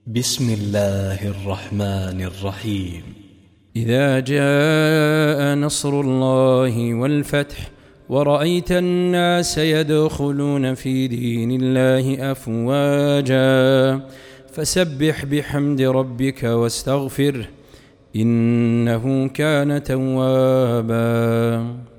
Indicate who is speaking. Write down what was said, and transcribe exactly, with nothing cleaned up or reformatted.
Speaker 1: بسم الله الرحمن الرحيم.
Speaker 2: إذا جاء نصر الله والفتح ورأيت الناس يدخلون في دين الله أفواجا فسبح بحمد ربك واستغفره إنه كان توابا.